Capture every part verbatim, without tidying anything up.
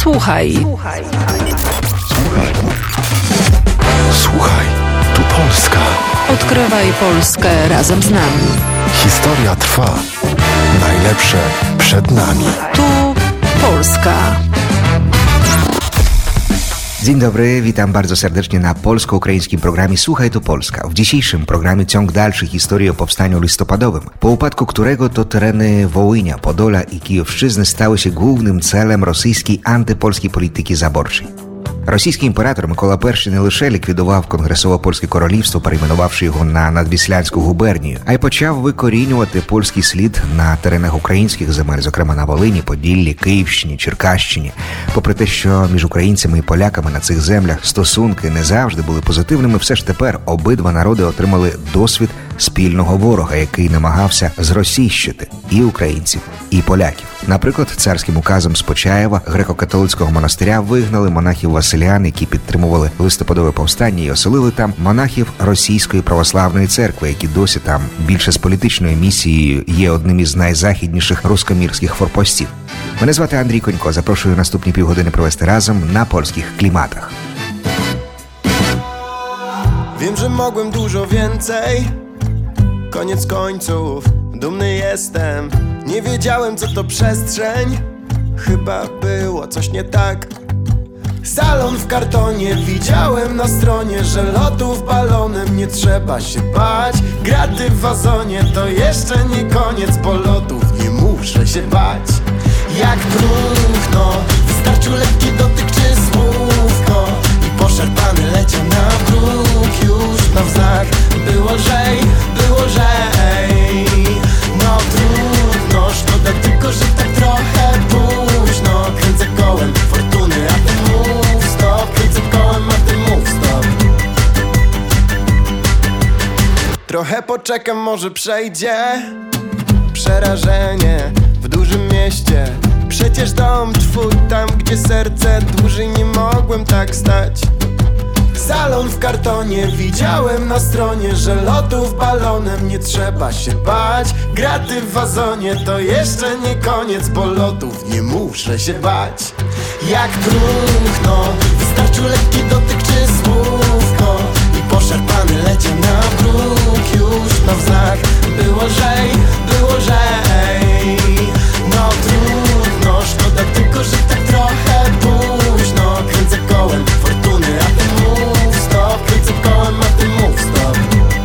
Słuchaj. Słuchaj. Słuchaj. Słuchaj. Tu Polska. Odkrywaj Polskę razem z nami. Historia trwa. Najlepsze przed nami. Tu Polska. Dzień dobry, witam bardzo serdecznie na polsko-ukraińskim programie Słuchaj tu Polska. W dzisiejszym programie ciąg dalszy historii o powstaniu listopadowym, po upadku którego to tereny Wołynia, Podola i Kijowszczyzny stały się głównym celem rosyjskiej antypolskiej polityki zaborczej. Російський імператор Микола Перший не лише ліквідував Конгресово-Польське королівство, перейменувавши його на Надвіслянську губернію, а й почав викорінювати польський слід на теренах українських земель, зокрема на Волині, Поділлі, Київщині, Черкащині. Попри те, що між українцями і поляками на цих землях стосунки не завжди були позитивними, все ж тепер обидва народи отримали досвід спільного ворога, який намагався зросійщити і українців, і поляків. Наприклад, царським указом з Почаєва греко-католицького монастиря вигнали монахів-василян, які підтримували листопадове повстання, і оселили там монахів Російської православної церкви, які досі там більше з політичною місією є одним із найзахідніших рускомірських форпостів. Мене звати Андрій Конько. Запрошую наступні півгодини провести разом на польських кліматах. Wiem, że mogłem dużo więcej. Koniec końców, dumny jestem. Nie wiedziałem, co to przestrzeń. Chyba było coś nie tak. Salon w kartonie, widziałem na stronie, że lotów balonem nie trzeba się bać. Graty w wazonie to jeszcze nie koniec, bo lotów nie muszę się bać. Jak próchno, wystarczył lekki dotyk czy słówko i poszarpany leciał na bruk już na wznak. Było lżej, było lżej. No trudno, szkoda tylko, że tak trochę późno. Kręcę kołem fortuny, a ty mów stop. Kręcę kołem, a ty mów stop. Trochę poczekam, może przejdzie przerażenie w dużym mieście. Przecież dom twój tam, gdzie serce dłużej nie mogłem tak stać. Salon w kartonie, widziałem na stronie, że lotów balonem nie trzeba się bać. Graty w wazonie to jeszcze nie koniec, bo lotów nie muszę się bać. Jak próchno, wystarczył lekki dotyk czy słówko i poszarpany leciał na bruk już na wznak. Było lżej, było lżej. No trudno, szkoda tylko, że tak trochę późno. Kręcę kołem fortuny, a ty mów stop. Kręcę kołem, a ty mów stop.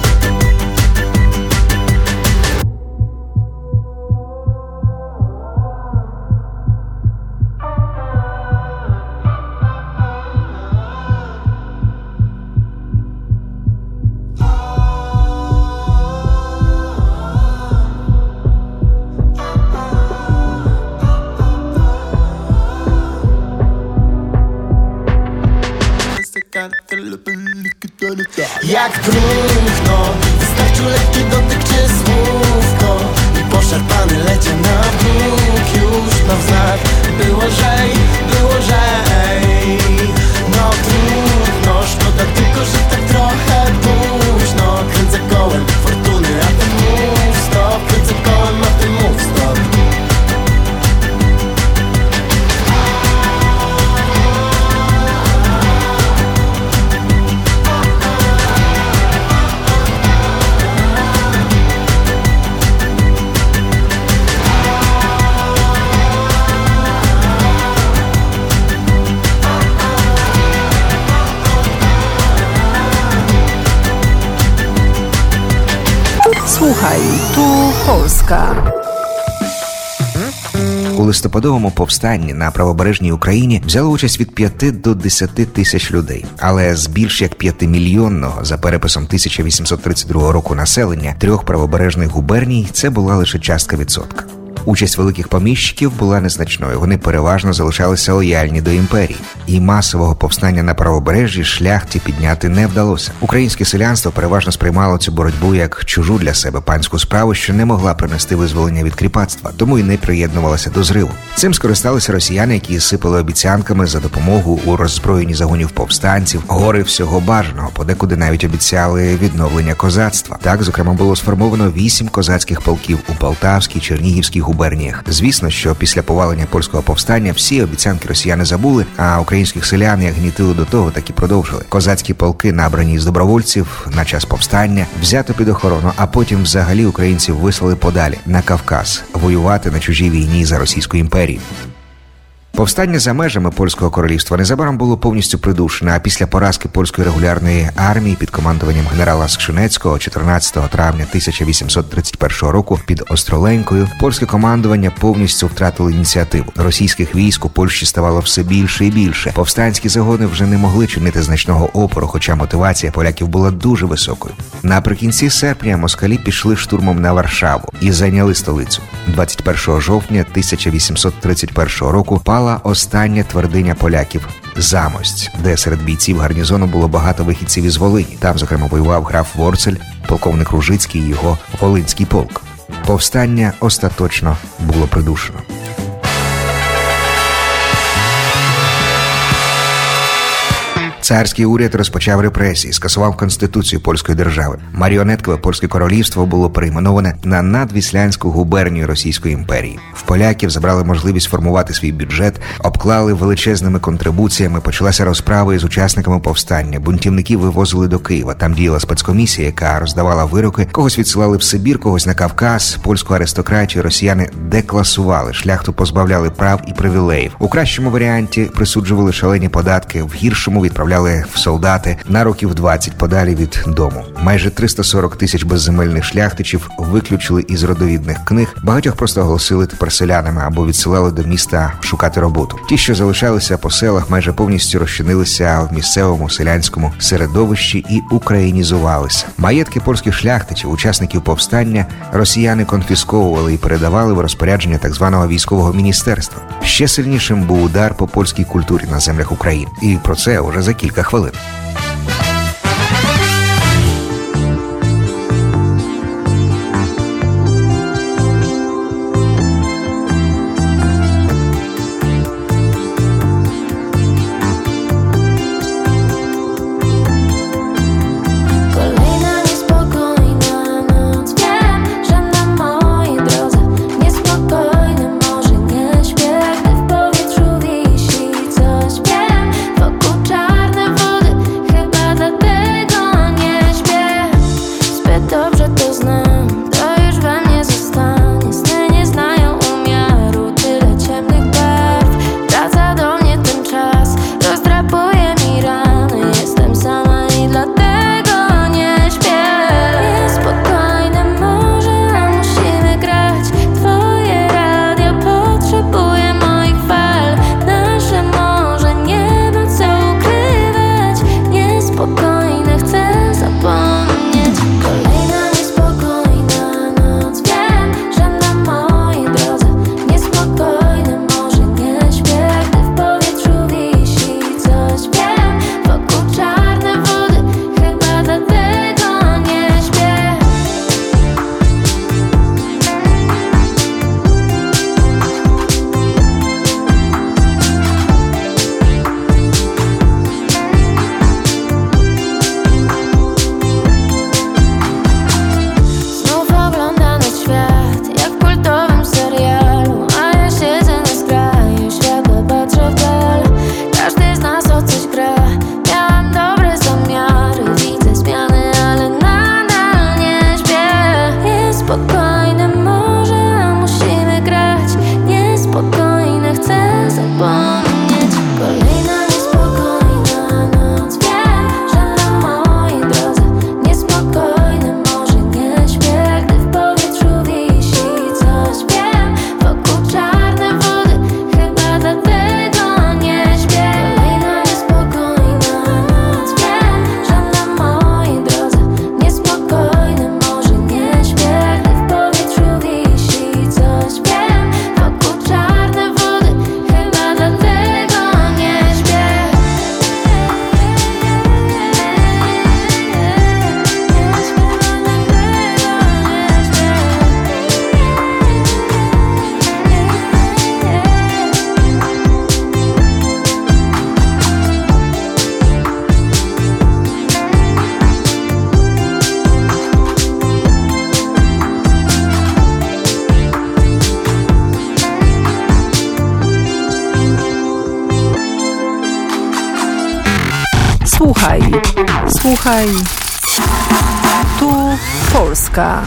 Jak próchno, wystarczył lekki dotyk czy słówko i poszarpany leciał na bruk już na wznak. Było lżej, było lżej. No trudno, szkoda tylko, że tak trochę późno. Kręcę kołem fortuny, a ty mów stop. Kręcę kołem, a ty mów stop. Słuchaj, tu Polska. У листопадовому повстанні на правобережній Україні взяло участь від п'яти до десяти тисяч людей. Але з більш як п'ятимільйонного, за переписом тисяча вісімсот тридцять другого року населення, трьох правобережних губерній це була лише частка відсотка. Участь великих поміщиків була незначною, вони переважно залишалися лояльні до імперії. І масового повстання на правобережжі шляхті підняти не вдалося. Українське селянство переважно сприймало цю боротьбу як чужу для себе панську справу, що не могла принести визволення від кріпацтва, тому й не приєднувалася до зриву. Цим скористалися росіяни, які сипали обіцянками за допомогу у роззброєнні загонів повстанців, гори всього бажаного, подекуди навіть обіцяли відновлення козацтва. Так, зокрема, було сформовано вісім козацьких полків у Полтавській, Чернігівській губернії, губерніях. Звісно, що після повалення польського повстання всі обіцянки росіяни забули, а українських селян як гнітили до того, так і продовжили. Козацькі полки, набрані з добровольців на час повстання, взято під охорону, а потім взагалі українців вислали подалі на Кавказ воювати на чужій війні за Російську імперію. Повстання за межами Польського королівства незабаром було повністю придушене, а після поразки польської регулярної армії під командуванням генерала Скшинецького чотирнадцятого травня тисяча вісімсот тридцять першого року під Остроленькою польське командування повністю втратило ініціативу. Російських військ у Польщі ставало все більше і більше. Повстанські загони вже не могли чинити значного опору, хоча мотивація поляків була дуже високою. Наприкінці серпня москалі пішли штурмом на Варшаву і зайняли столицю. двадцять першого жовтня тисяча вісімсот тридцять першого року пала остання твердиня поляків – Замость, де серед бійців гарнізону було багато вихідців із Волині. Там, зокрема, воював граф Ворцель, полковник Ружицький і його Волинський полк. Повстання остаточно було придушено. Царський уряд розпочав репресії, скасував Конституцію польської держави. Маріонеткове польське королівство було перейменоване на надвіслянську губернію Російської імперії. В поляків забрали можливість формувати свій бюджет, обклали величезними контрибуціями, почалася розправа із учасниками повстання. Бунтівників вивозили до Києва, там діяла спецкомісія, яка роздавала вироки, когось відсилали в Сибір, когось на Кавказ, польську аристократію росіяни декласували, шляхту позбавляли прав і привілеїв. У кращому варіанті присуджували шалені податки, в гіршому відправляли в солдати на років двадцять подалі від дому. Майже триста сорок тисяч безземельних шляхтичів виключили із родовідних книг, багатьох просто оголосили тепер селянами або відсилали до міста шукати роботу. Ті, що залишалися по селах, майже повністю розчинилися в місцевому селянському середовищі і українізувалися. Маєтки польських шляхтичів, учасників повстання, росіяни конфісковували і передавали в розпорядження так званого військового міністерства. Ще сильнішим був удар по польській культурі на землях України. І про це уже за кілька хвилин. Wokół czarne wody Słuchaj, słuchaj, tu Polska.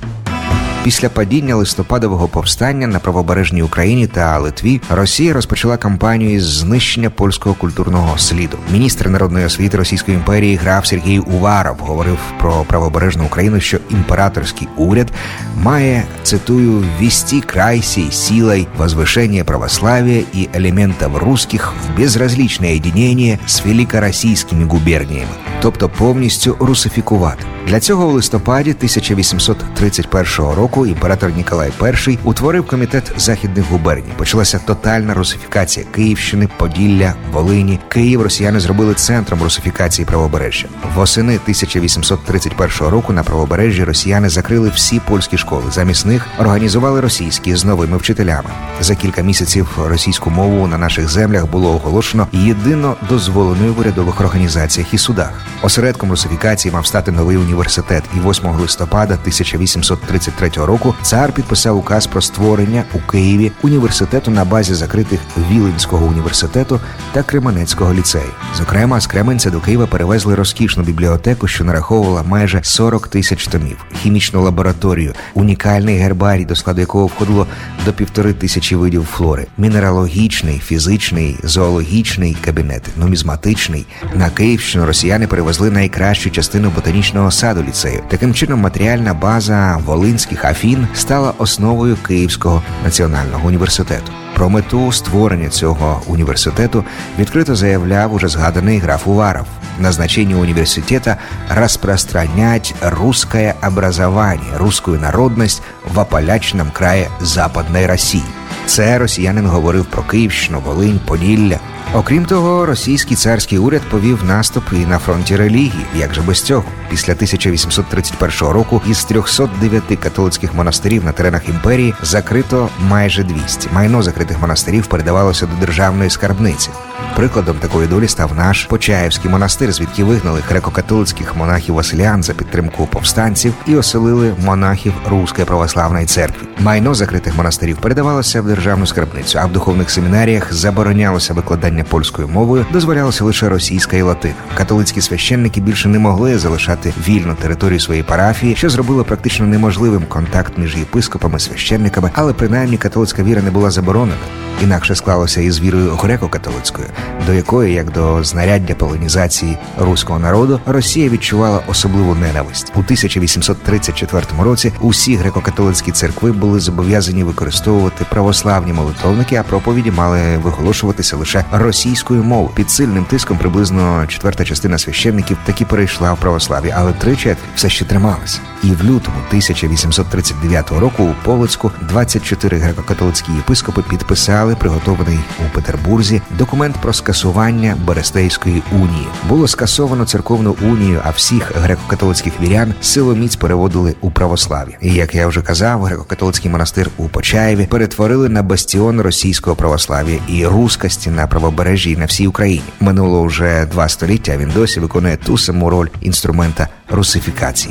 Після падіння листопадового повстання на правобережній Україні та Литві Росія розпочала кампанію із знищення польського культурного сліду. Міністр народної освіти Російської імперії граф Сергій Уваров говорив про правобережну Україну, що імператорський уряд має, цитую, «ввести край сей силой возвышения православия и элементов русских в безразличное единение з великороссийскими губерніями», тобто повністю русифікувати. Для цього в листопаді тисяча вісімсот тридцять першого року імператор Ніколай І утворив комітет західних губерній. Почалася тотальна русифікація Київщини, Поділля, Волині. Київ росіяни зробили центром русифікації правобережжя. Восени тисяча вісімсот тридцять першого року на правобережжі росіяни закрили всі польські школи. Замість них організували російські з новими вчителями. За кілька місяців російську мову на наших землях було оголошено єдино дозволеною в урядових організаціях і судах. Осередком русифікації мав стати новий університет, і восьмого листопада тисяча вісімсот тридцять третього року цар підписав указ про створення у Києві університету на базі закритих Віленського університету та Кременецького ліцею. Зокрема, з Кременця до Києва перевезли розкішну бібліотеку, що нараховувала майже сорок тисяч томів, хімічну лабораторію, унікальний гербарій, до складу якого входило до півтори тисячі видів флори, мінералогічний, фізичний, зоологічний кабінети, нумізматичний. На Київщину росіяни перевезли найкращу частину ботанічного саду ліцею. Таким чином, матеріальна база волинських Афін стала основою Київського національного університету. Про мету створення цього університету відкрито заявляв уже згаданий граф Уваров. Назначение университета – распространять русское образование, русскую народность в Аполячном крае Западної Росії. Це росіянин говорив про Київщину, Волинь, Поділля. Окрім того, російський царський уряд повів наступ і на фронті релігії. Як же без цього? Після тисяча вісімсот тридцять першого року із трьохсот дев'яти католицьких монастирів на теренах імперії закрито майже двісті. Майно закритих монастирів передавалося до державної скарбниці. Прикладом такої долі став наш Почаївський монастир, звідки вигнали греко-католицьких монахів-василян за підтримку повстанців і оселили монахів Руської православної церкви. Майно закритих монастирів передавалося в державну скарбницю, а в духовних семінаріях заборонялося викладання польською мовою, дозволялося лише російська і латина. Католицькі священники більше не могли залишати вільну територію своєї парафії, що зробило практично неможливим контакт між єпископами і священниками, але принаймні католицька віра не була заборонена. Інакше склалося із вірою греко-католицькою, до якої, як до знаряддя полонізації руського народу, Росія відчувала особливу ненависть. У тисяча вісімсот тридцять четвертому році усі греко-католицькі церкви були зобов'язані використовувати православні молитовники, а проповіді мали виголошуватися лише російською мовою. Під сильним тиском приблизно четверта частина священників таки перейшла в православ'я, але три четверті все ще трималися. І в лютому тисяча вісімсот тридцять дев'ятого року у Полоцьку двадцять чотири греко-католицькі єпископи підписали приготований у Петербурзі документ про скасування Берестейської унії. Було скасовано церковну унію, а всіх греко-католицьких вірян силоміць переводили у православ'я. І, як я вже казав, греко-католицький монастир у Почаєві перетворили на бастіон російського православ'я і рускості на правобережжі і на всій Україні. Минуло вже два століття, а він досі виконує ту саму роль інструмента русифікації.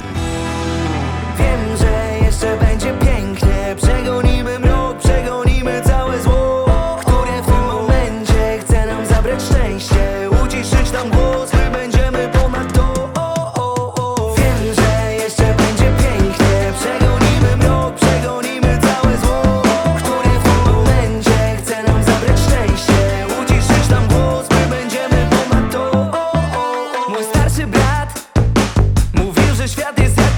Wiem, że jeszcze będzie pięknie. Przegonimy mrok, przegonimy całe zło, które w tym momencie chce nam zabrać szczęście. Uciszyć nam głos, my będziemy ponad to. O, o, o. Wiem, że jeszcze będzie pięknie. Przegonimy mrok, przegonimy całe zło, które w tym momencie chce nam zabrać szczęście. Uciszyć nam głos, my będziemy ponad to. O, o, o. Mój starszy brat mówił, że świat jest jak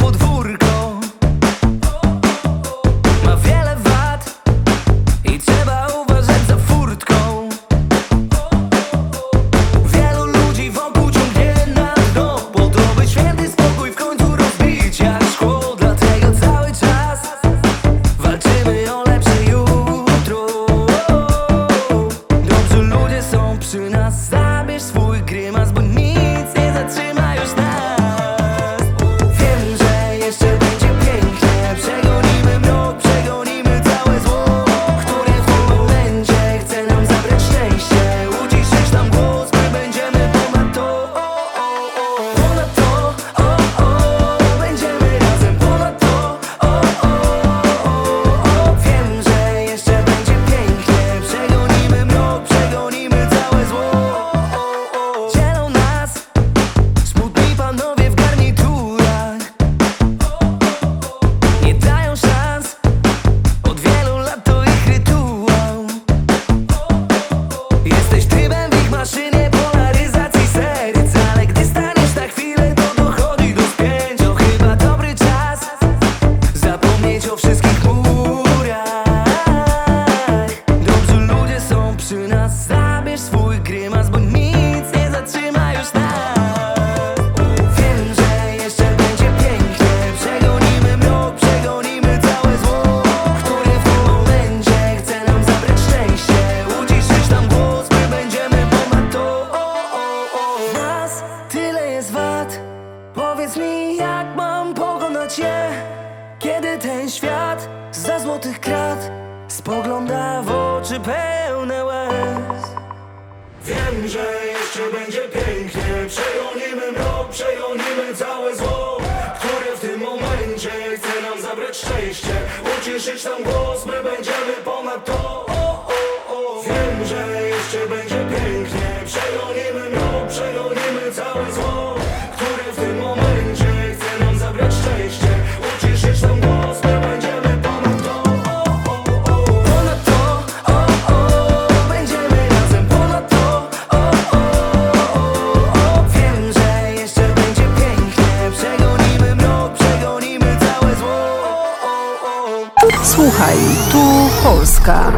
Wiem, że jeszcze będzie pięknie. Przegonimy mrok, przegonimy całe zło, które w tym momencie chce nam zabrać szczęście. Uciszyć tam głos, my będziemy ponad to. O, o, o. Wiem, że jeszcze będzie pięknie. Przegonimy mrok, przegonimy całe zło, które w tym momencie chce nam zabrać szczęście. Uciszyć tam głos, my będziemy ponad to. O, o, o. Ponad to, o, o. Będziemy razem ponad to. O, o, o, o. Wiem, że jeszcze będzie pięknie. Przegonimy mrok, przegonimy całe zło. O, o, o. Słuchaj, tu Polska.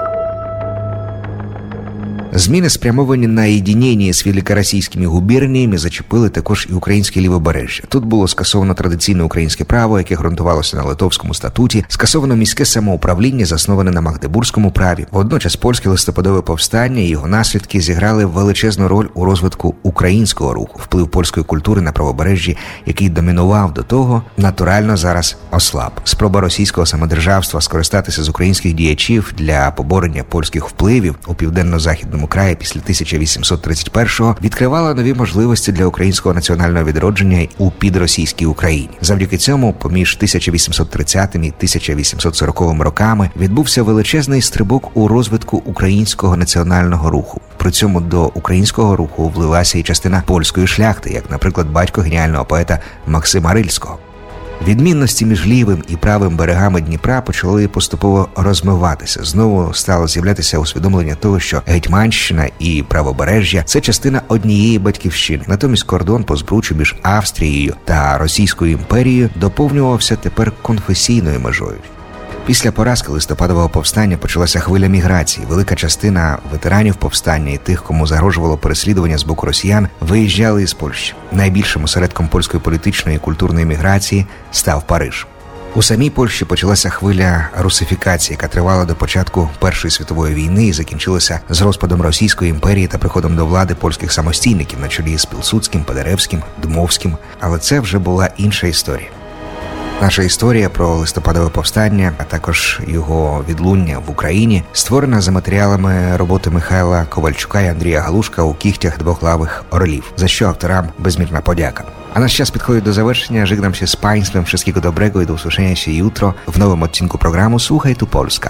Зміни, спрямовані на єдиніння з великоросійськими губерніями, зачепили також і українське лівобережжя. Тут було скасовано традиційне українське право, яке ґрунтувалося на Литовському статуті, скасовано міське самоуправління, засноване на Магдебурзькому праві. Водночас польське листопадове повстання і його наслідки зіграли величезну роль у розвитку українського руху. Вплив польської культури на правобережжі, який домінував до того, натурально зараз ослаб. Спроба російського самодержавства скористатися з українських діячів для поборення польських впливів у південно-західному краї після тисяча вісімсот тридцять першого відкривала нові можливості для українського національного відродження у підросійській Україні. Завдяки цьому, поміж тисяча вісімсот тридцятим і тисяча вісімсот сороковим роками відбувся величезний стрибок у розвитку українського національного руху. При цьому до українського руху влилася і частина польської шляхти, як, наприклад, батько геніального поета Максима Рильського. Відмінності між лівим і правим берегами Дніпра почали поступово розмиватися. Знову стало з'являтися усвідомлення того, що Гетьманщина і правобережжя – це частина однієї батьківщини. Натомість кордон по збруччю між Австрією та Російською імперією доповнювався тепер конфесійною межою. Після поразки листопадового повстання почалася хвиля міграції. Велика частина ветеранів повстання і тих, кому загрожувало переслідування з боку росіян, виїжджали із Польщі. Найбільшим осередком польської політичної і культурної міграції став Париж. У самій Польщі почалася хвиля русифікації, яка тривала до початку Першої світової війни і закінчилася з розпадом Російської імперії та приходом до влади польських самостійників на чолі з Пілсудським, Падеревським, Дмовським. Але це вже була інша історія. Наша історія про листопадове повстання, а також його відлуння в Україні, створена за матеріалами роботи Михайла Ковальчука і Андрія Галушка у кігтях двохлавих орлів, за що авторам безмірна подяка. A nasz czas podchodzi do zakończenia. Żegnam się z Państwem. Wszystkiego dobrego i do usłyszenia się jutro w nowym odcinku programu Słuchaj tu Polska.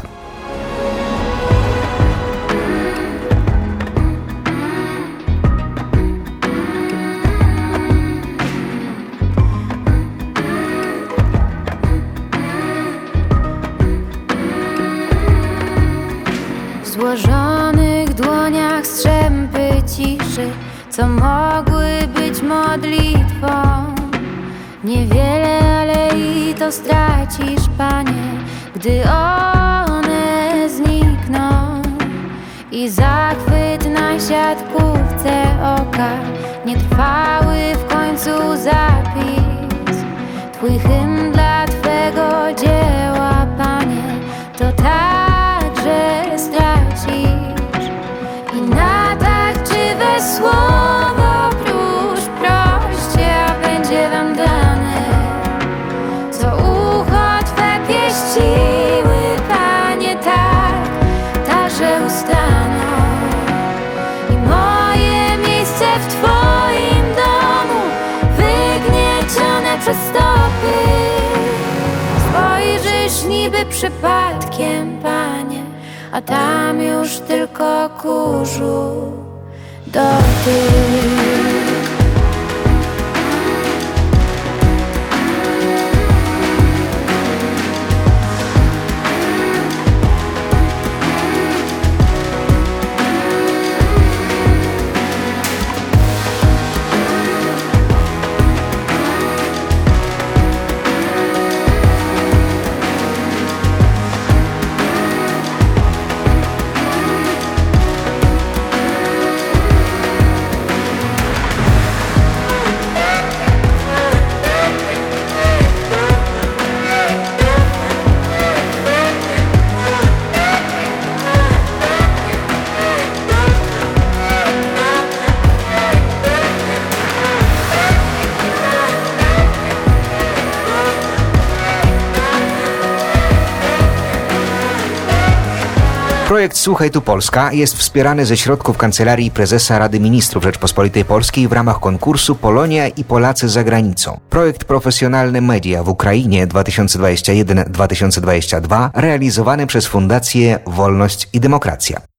W złożonych dłoniach strzępy ciszy, co mogły być modlitwą. Niewiele, ale i to stracisz, Panie, gdy one znikną. I zachwyt na siatkówce oka, nietrwały w końcu zapis. Twój hymn dla Twego dzieła, Panie, to także stracisz. I na tak czywe słowo prócz proście, a będzie wam dane, co ucho Twe pieściły, Panie, tak, także ustaną. I moje miejsce w Twoim domu, wygniecione przez stopy. Spojrzysz niby przypadkiem, Panie, a tam już tylko kurzu dotyk. Projekt Słuchaj tu Polska jest wspierany ze środków Kancelarii Prezesa Rady Ministrów Rzeczpospolitej Polskiej w ramach konkursu Polonia i Polacy za granicą. Projekt Profesjonalne Media w Ukrainie dwa tysiące dwudziesty pierwszy do dwa tysiące dwudziestego drugiego realizowany przez Fundację Wolność i Demokracja.